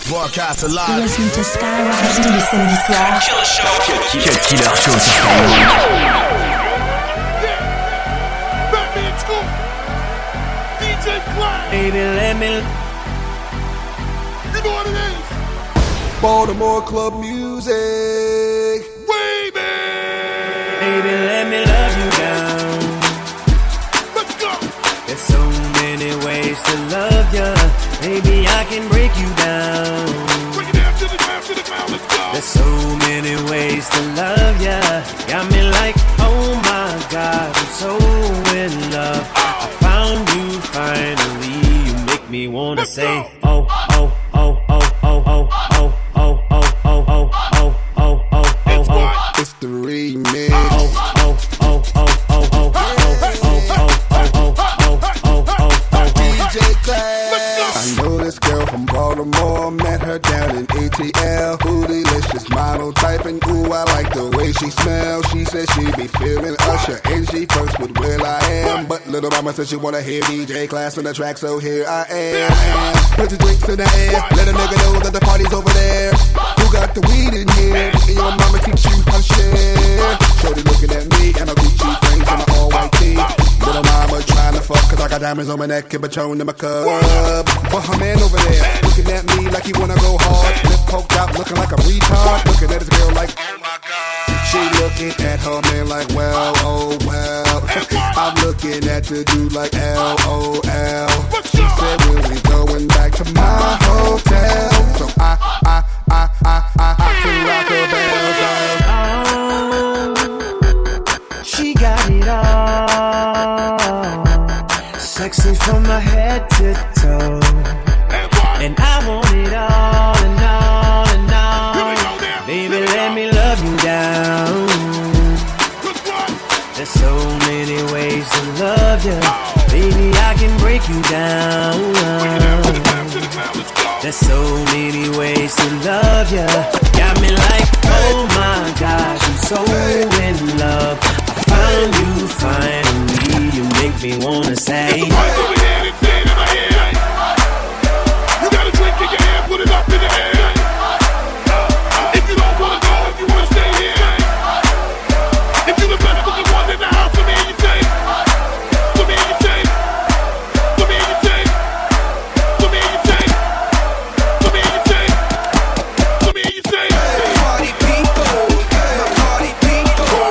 Broadcast alive. You're listening to Skyrock tous les samedis soirs. Cut Killer Show sur Skyrock. Batman School. DJ Clyde. Baby, let me. You know what it is. Baltimore club music. Wavy. Baby, let me love you down. Let's go. There's so many ways to love ya. Baby, I can break you down. Bring it down to the ground, let's go. There's so many ways to love ya. Got me like, oh my God, I'm so in love. I found you finally. You make me wanna Let's say, go. oh, oh, oh, oh, oh, oh, oh, oh, oh, oh, oh, oh, oh, oh, It's oh. what? It's the remix. Oh, oh, oh, oh, oh, oh, oh, DJ Class. I know this girl from Baltimore. Met her down in ATL. Bootylicious model type, and ooh, I like the way she smells. She said she be feeling Usher, and she first with Will I Am. But little mama said she wanna hear DJ Class on the track, so here I am. Put your drinks in the air. Let a nigga know that the party's over there. Who got the weed in here? And your mama teach you how to share. Shorty looking at me and my Gucci frames and my all white tee. Little mama trying to fuck, cause I got diamonds on my neck and Patron in my cup. But her man over there, looking at me like he wanna go hard. Lip poked out, looking like a retard. Looking at his girl like, oh my God. She looking at her man like, well, oh well. I'm looking at the dude like, LOL. She said, we'll be going back to my hotel. So I can rock her bells down. oh. She got it all. Sexy from my head to toe. And I want it all and all and all. Baby, let me love you down. There's so many ways to love you. Baby, I can break you down. There's so many ways to love you. Got me like, oh my gosh, I'm so in love. I found you finally. You make me wanna say, Over here and say it in my head. You got a drink in your hand, put it up in the air. If you don't wanna go, if you wanna stay here. If you the best looking one in the house, for me you say. For me you say. For me you say. For me you say. For me you say. For me you say. Party people, party people.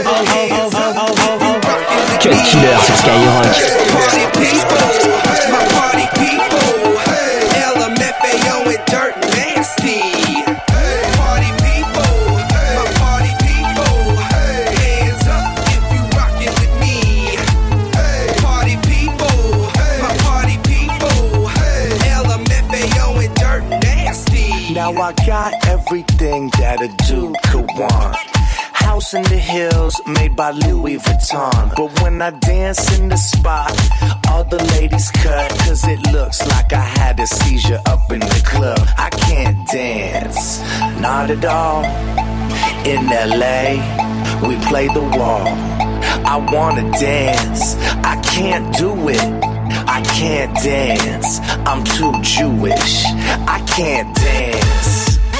Cut Killer sur Skyrock. Party people, my party people. LMFAO and Dirt Nasty. Party people, my party people. Hands up if you rockin' with me. Party people, my party people. LMFAO and Dirt Nasty. Now I got everything that a dude could want. House in the hills made by Louis Vuitton. But when I dance in the spot, all the ladies cut. Cause it looks like I had a seizure up in the club. I can't dance, not at all. In LA, we play the wall. I wanna dance, I can't do it. I can't dance, I'm too Jewish. I can't dance.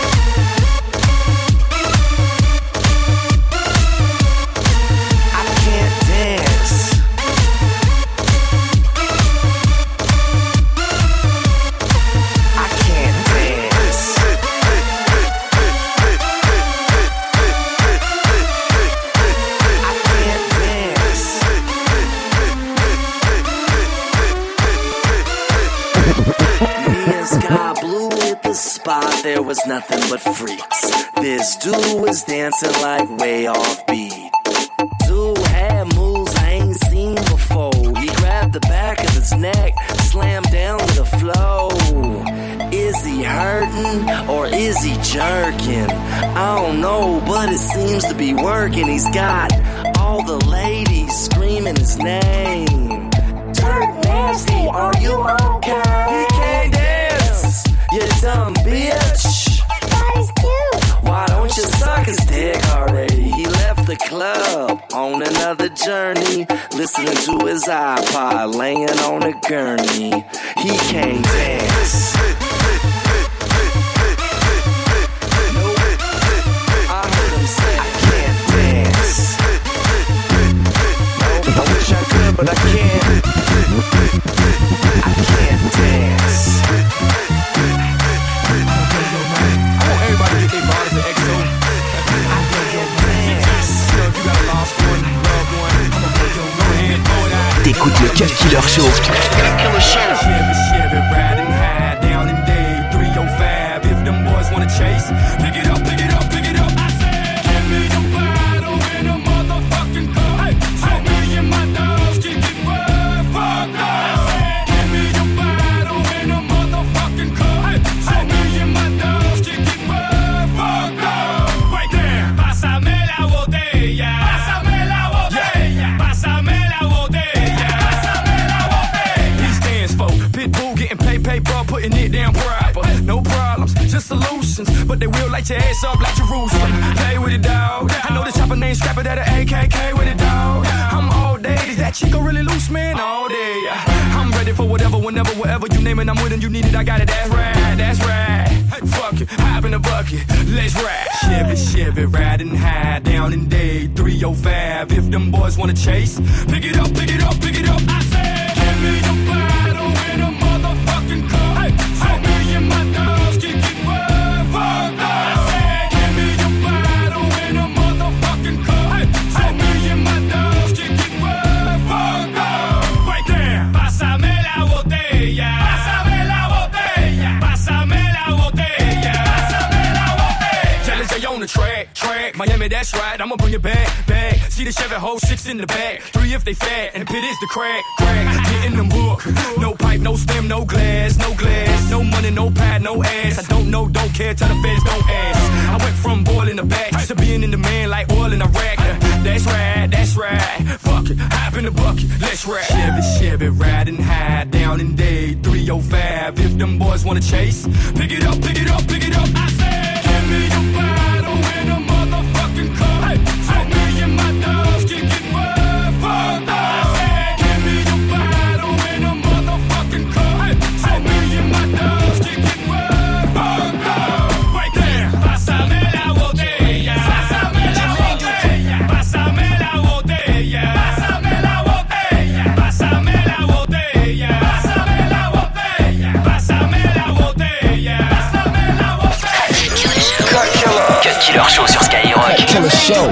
Sky blue at the spot, there was nothing but freaks. This dude was dancing like way off beat. Dude had moves I ain't seen before. He grabbed the back of his neck, slammed down to the floor. Is he hurting or is he jerking? I don't know, but it seems to be working. He's got all the ladies screaming his name. Dirt Nasty, are you okay? He can't dance, you dumb bitch. That is cute. Why don't you suck his dick already? He left the club on another journey, listening to his iPod, laying on a gurney. He can't dance. T'écoutes le Cut Killer Show. Chevy, Chevy, riding high down in day 305. If them boys wanna chase, pick it up, pick it up, pick it up. I said, give me the bottle and a motherfucking cup. Hey, so me and my dogs can get fucked up. I said, give me the bottle and a motherfucking cup. Hey, so me and my dogs can get fucked up. Right there, pásame la botella. Pásame la botella. Pásame la botella. Pásame la botella. He stands for Pitbull getting paper, putting it down proper. No problems, just solutions. But they will light your ass up like Jerusalem. Play with it, dog. I know this type of name scrapper that a AKK with it, dog. I'm all day. Is that Chico really loose, man? All day. I'm ready for whatever, whenever, wherever you name it. I'm with it, you need it, I got it. That's right, that's right. Fuck it, hop in the bucket, let's ride. Chevy, Chevy, riding high down in day 305. If them boys wanna chase, pick it up, pick it up, pick it up. I said, give me the bottle and a motherfucking cup. Hey, so me and my dogs can get fucked up. I said, give me the bottle and a motherfucking cup. Hey, so me and my dogs can get fucked up. Right there, pásame la botella. Pásame la botella. Pásame la botella. Pásame la botella. Jealous they on the track. Miami, that's right, I'ma bring it back. See the Chevy whole 6 in the back. 3 if they fat, and the pit is the crack. Getting them book. No pipe, no stem, no glass. No money, no pad, no ass. I don't know, don't care, tell the feds don't ask. I went from boiling the back to being in the man like oil in Iraq. That's right, that's right. Fuck it, hop in the bucket, let's ride. Chevy, Chevy, riding high down in day 305. If them boys wanna chase, pick it up, pick it up, pick it up. I said, give me the bottle and a motherfucking cup. Hey, so me and my dogs can get fucked up. I said, give me the bottle and a motherfucking cup. Hey, so me and my dogs can get fucked up. Right there, pásame la botella. Pásame la botella. Pásame la botella. Pásame la botella. Pásame la botella. Pásame la botella. Pásame la botella. Pásame la botella. Cut Killer Show sur Skyrock. Killer Show.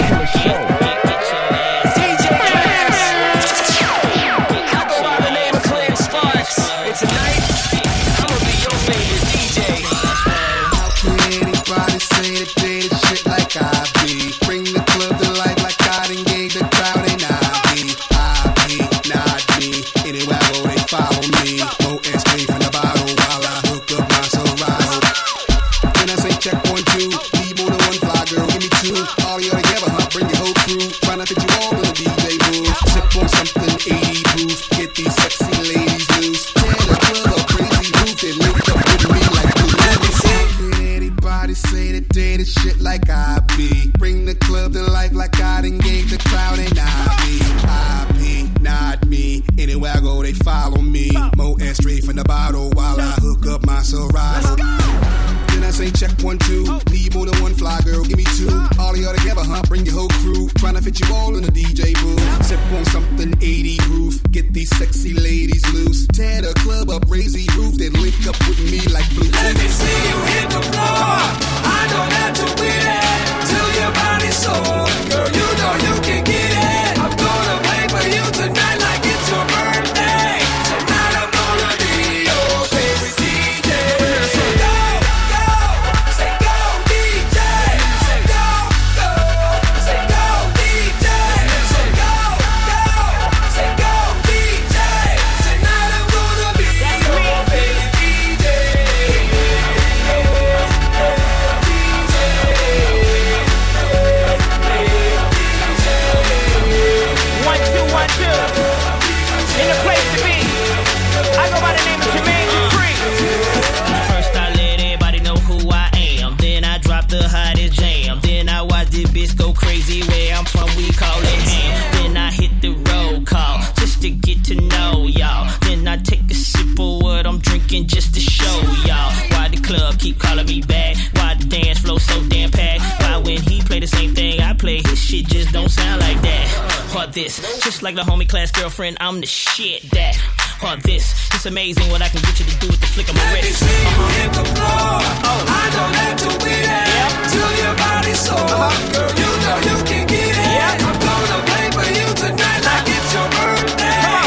Just like the homie class girlfriend, I'm the shit that this. It's amazing what I can get you to do with the flick of my wrist. Let me see you hit the floor. I don't have to be there till your body's sore. Girl, you know you can get it. I'm gonna play for you tonight like it's your birthday.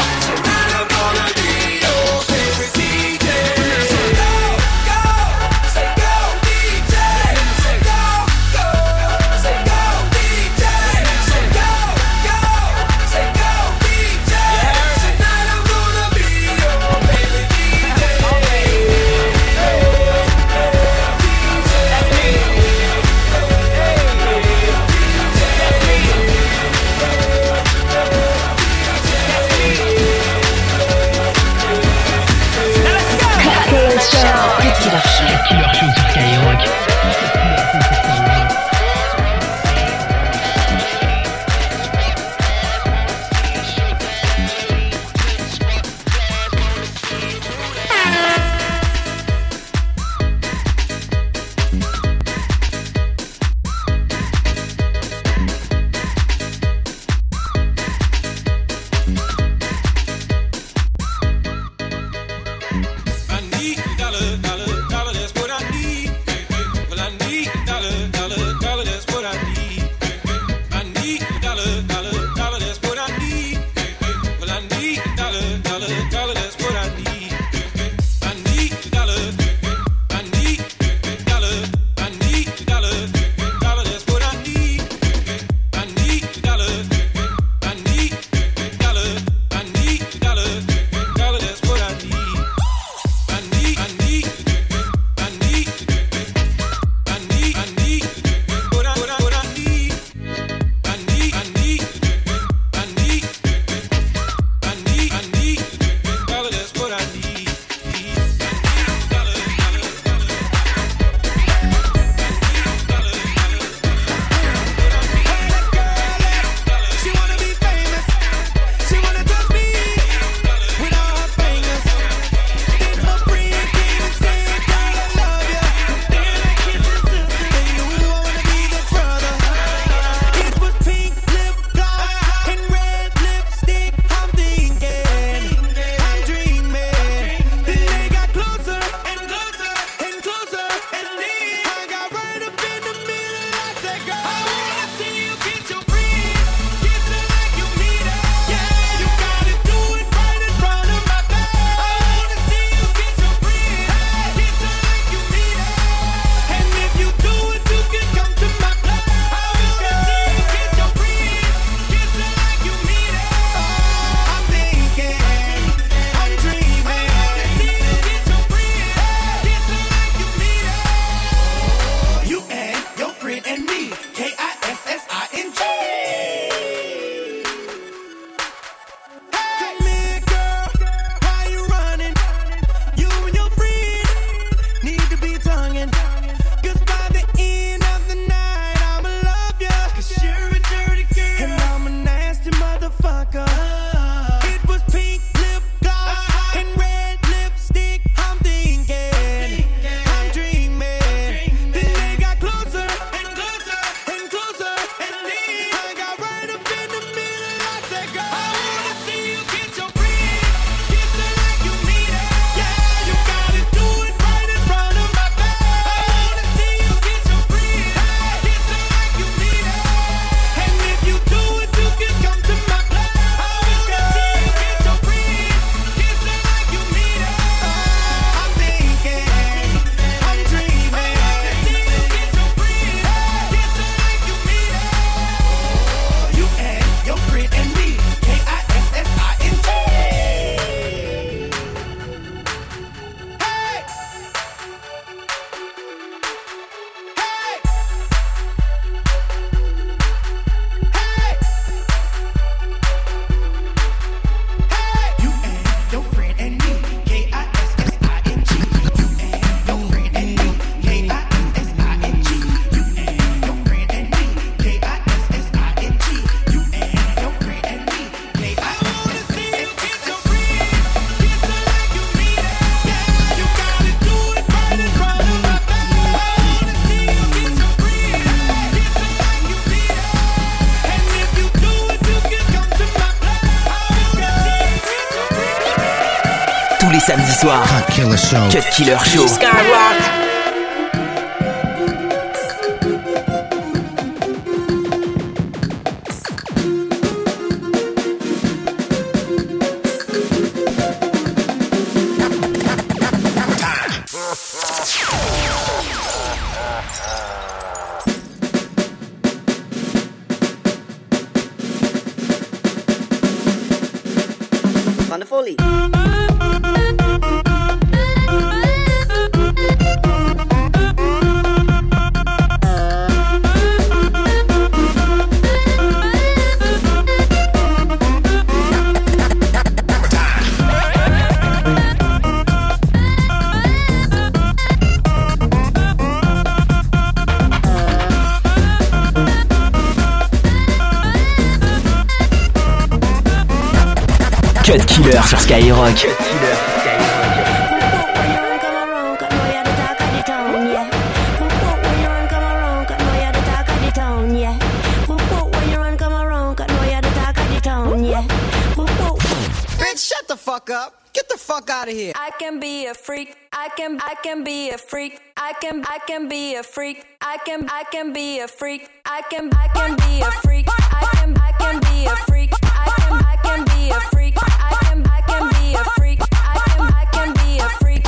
les samedis soirs. Cut Killer Show. Cut Killer Show. Skyrock. Wonderfully. Cut Killer sur Skyrock. Cut Killer. Bitch, shut the fuck up. Get the fuck out of here. I can be a freak. I can be a freak. I can be a freak. I can be a freak. I can be a freak. I can be a freak. I can be a freak. I can be a freak. I can be a freak. I can be a freak.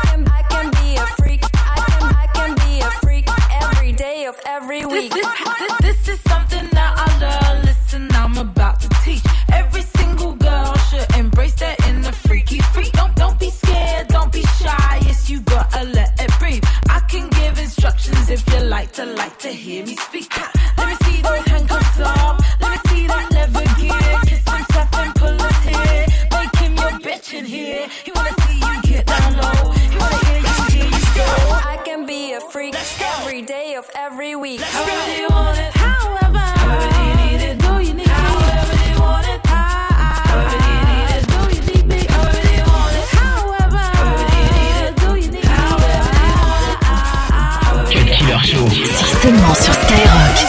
I can be a freak every day of every week. This is something that I love. Listen, I'm about to teach. Every single girl should embrace that inner freaky freak. Don't be scared, don't be shy. Yes, you gotta let it breathe. I can give instructions if you like to hear me speak. Let me see those handcuffs up. Let me see that leather gear. Kiss himself and pull his hair. Make him your bitch in here. He wanna see you get down low. He wanna hear you go. I can be a freak every day of every week. However you want it, however you need it, do you need it? However you want it, however you need it, do you need me? However you want it, however you need it, do you need me? However you want it, Cut Killer Show. C'est seulement sur Skyrock.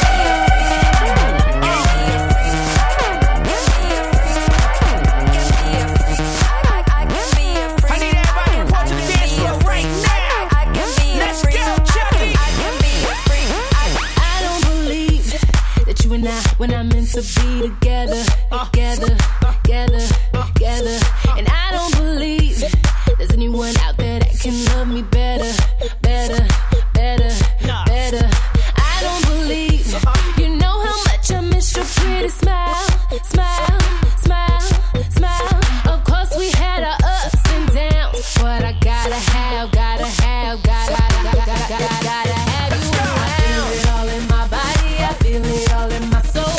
When I'm meant to be together, together, and I don't believe there's anyone out there that can love me better. I don't believe you know how much I miss your pretty smile. Of course we had our ups and downs, but I gotta have you around. I feel it all in my body, I feel it all in my soul.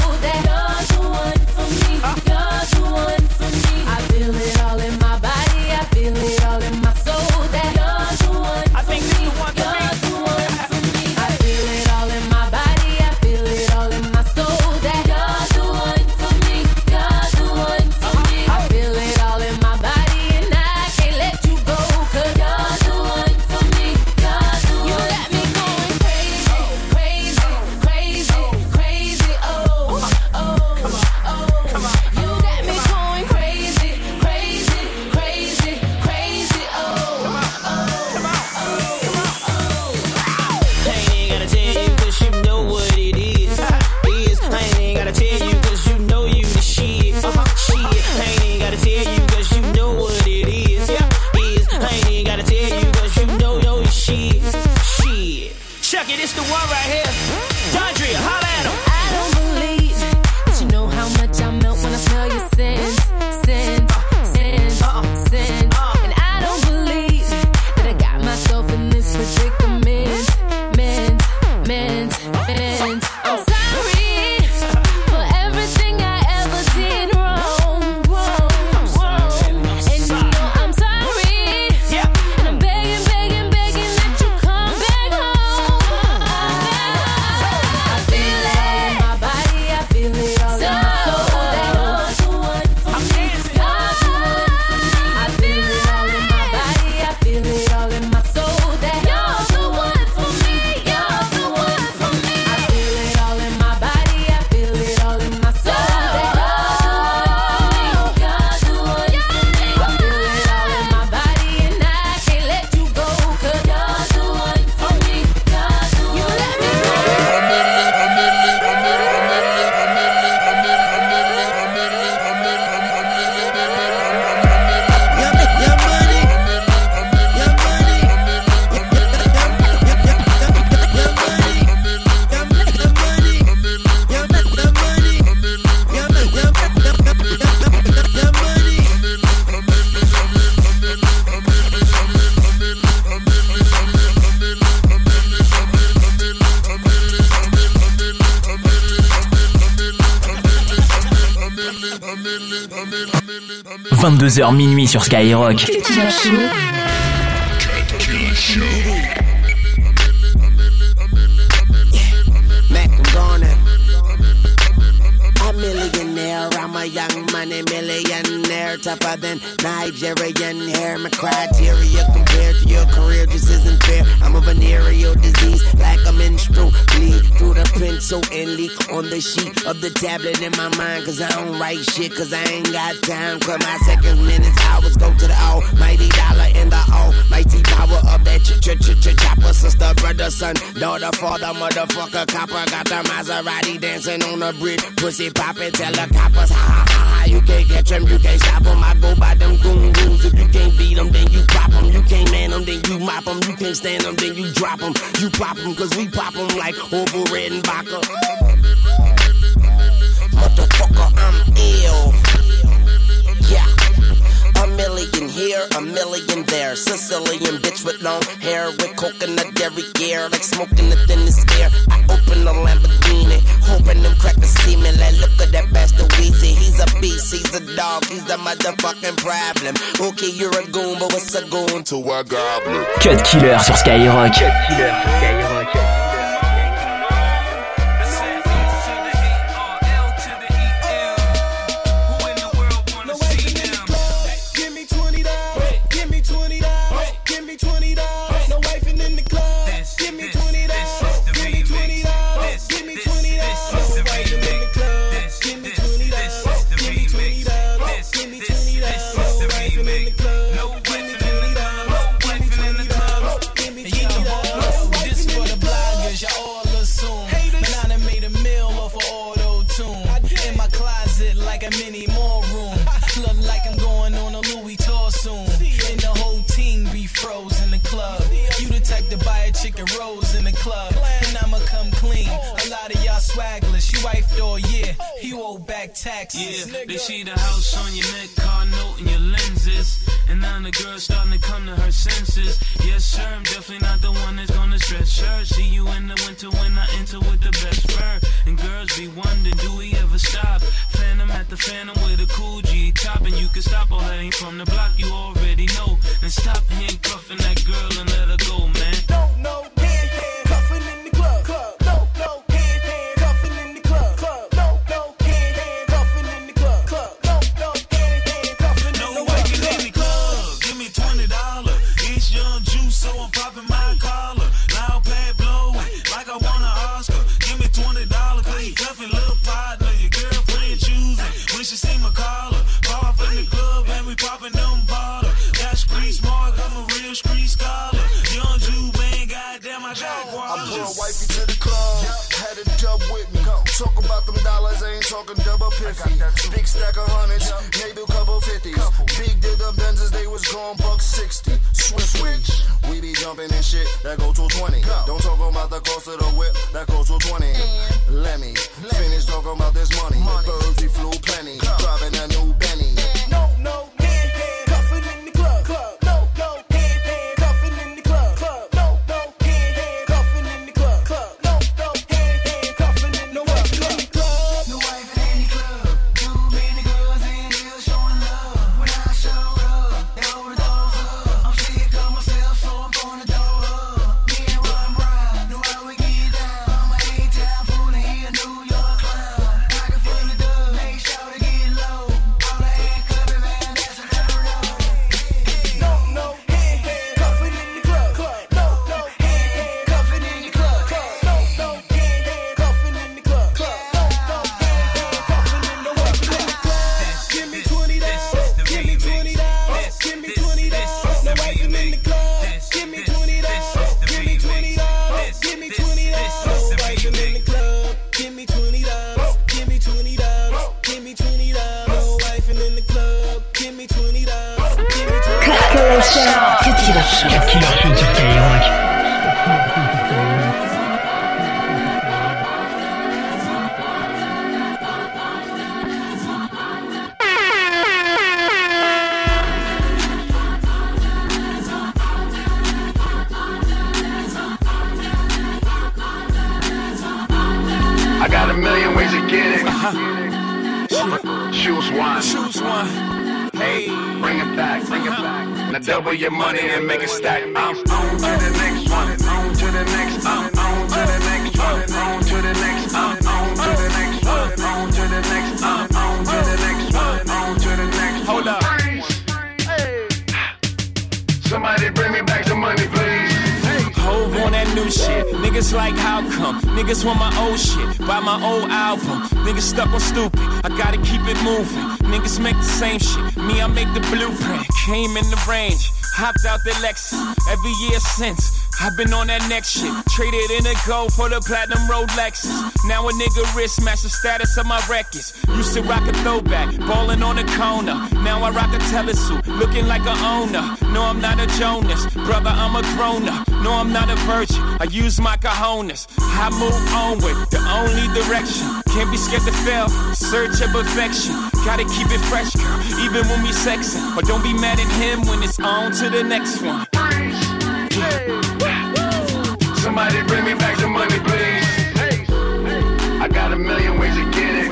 22h minuit sur Skyrock. Millionaire, I'm a young money millionaire, tougher than Nigerian hair. My criteria compared to your career just isn't fair. I'm a venereal disease, like a menstrual bleed through the pencil and leak on the sheet of the tablet in my mind. Cause I don't write shit, cause I ain't got time. Cause my seconds, minutes, hours go to the almighty dollar and the almighty power of that chopper. Sister, brother, son, daughter, father, motherfucker, copper. Got the Maserati dancing on the bridge, pussy poppin', tell the coppers, ha ha ha, you can't catch them, you can't stop them. I go by them goon rules. If you can't beat them, then you pop them. You can't man them, then you mop them. You can't stand them, then you drop them. You pop them, cause we pop them like Orville Redenbacher. Motherfucker, I'm ill. Yeah. A million here, a million there. Sicilian bitch with long hair, with coconut every year, like smoking the thinnest air. I open the Lamborghini, hoping them crackers see me. Like, look at that bastard Weezy. He's a beast, he's a dog, he's the motherfucking problem. Okay, you're a goon, but what's a goon to a goblin? Cut Killer sur Skyrock. Cut Killer sur Skyrock. Taxes. Yeah, they see the house on your neck, car note, and your lenses. And now the girl's starting to come to her senses. Yes, sir, I'm definitely not the one that's gonna stretch her. See you in the winter when I enter with the best fur. And girls be wondering, do we ever stop? Phantom at the Phantom with a cool G top. And you can stop, all that ain't from the block, you already know. And stop handcuffing that girl and let her go, man. No, handcuffing in the club. No, handcuffing in the club. So I'm popping my collar, loud pad blowing, like I won an Oscar. Give me $20, cause you cuffing little partner. Your girlfriend choosing, when she see my collar. Off in the club and we popping them bottles. Got street smart, I'm a real street scholar. Young Jew, man, goddamn, I got guava. I brought wifey to the club, had a dub with me. Talk about them dollars, I ain't talking double piffy. Big stack of hundreds, maybe a couple 50s. Big did the Benzes, they was gone $160. Switch. We be jumping and shit, that go to 20. Don't talk about the cost of the whip, that goes to 20. Let me finish talking about this money. Birds, we flew plenty, driving a new Benny. No, handcuffing in the club. No, handcuffing in the club. No, handcuffing in the club. No, handcuffing in the club. No wife in the club. Too many girls in here showing love. When I showed up, they overdose up. I'm sick of myself, so I'm gonna throw up. Me and Ron Brown, know how we get down. I'm a A-town fool and he a New York clown. Pocket full of dub, make sure to get low. All the handcuffing, man, that's a little road. No, handcuffing in the club. No, handcuffing in the club. No, handcuffing in the club. No, handcuffing in the club. Give me $20. Give me $20. Give me $20. No wife in the club. Give me $20. Give me $20. Give me $20. No wife in the club. Give me $20. Give me $20. Give me $20. No wife in the club. Give me $20. Give me $20. Cut Killer sur Skyrock. I got a million ways to get it. She was Choose one. Choose one. Hey, bring it back. Bring it back. Now double your money and make it stack. I'm on to the next one. On to the next. I'm on to the next one. On to the next. I'm on to the next one. On to the next. I'm on to the next one. On to the next. Hold up. Somebody bring me back some money, please. Hove on that new shit. Niggas like how come? Niggas want my old shit. Buy my old album. Niggas stuck on stupid. I gotta keep it moving. Niggas make the same shit. Me, I make the blueprint. Came in the range. Hopped out the Lexus. Every year since. I've been on that next shit. Traded in a gold for the platinum Rolexes. Now a nigga wrist match the status of my records. Used to rock a throwback, ballin' on the corner. Now I rock a telesuit, looking like a owner. No, I'm not a Jonas, brother, I'm a grown-up. No, I'm not a virgin, I use my cojones. I move onward, the only direction. Can't be scared to fail, search of perfection. Gotta keep it fresh, girl, even when we sexin'. But don't be mad at him when it's on to the next one. Somebody bring me back some money, please. I got a million ways to get it.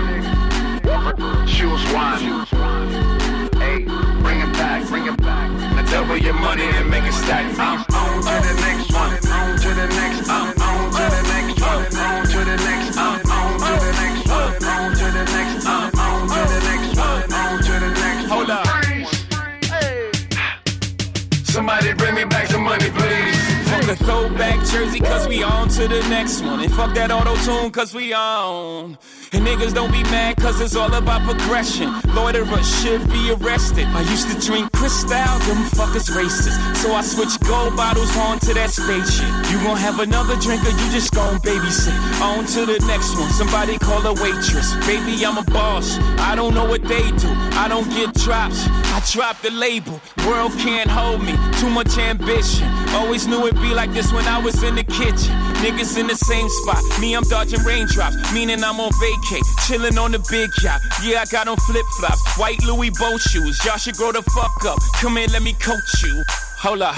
Choose one. Hey, bring it back, bring it back. Now double your money and make it stack. I'm on to the next one. On to the next. I'm on to the next one. On to the next. I'm on to the next one. On to the next. I'm on to the next one. On to the next. Hold up. Somebody bring me back some money, please. Fuck a throwback jersey, cause we on to the next one. And fuck that auto-tune, cause we on. And niggas don't be mad, cause it's all about progression. Loiterers should be arrested. I used to drink Cristal, them fuckers racist. So I switched gold bottles on to that spaceship. You gon' have another drink or you just gon' babysit. On to the next one, somebody call a waitress. Baby, I'm a boss, I don't know what they do. I don't get drops, I drop the label. World can't hold me, too much ambition. Always knew it'd be like this when I was in the kitchen. Niggas in the same spot, me I'm dodging raindrops. Meaning I'm on vacay, chillin' on the big yacht. Yeah, I got on flip-flops, white Louis boat shoes. Y'all should grow the fuck up, come here, let me coach you. Hold up.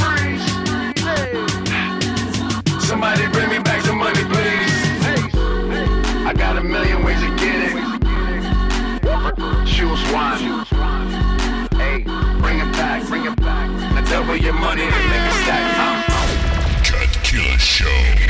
Somebody bring me back some money, please. I got a million ways to get it. Choose one. Hey, bring it back, bring it back. Now double your money and make it stack. Cut Killer Show.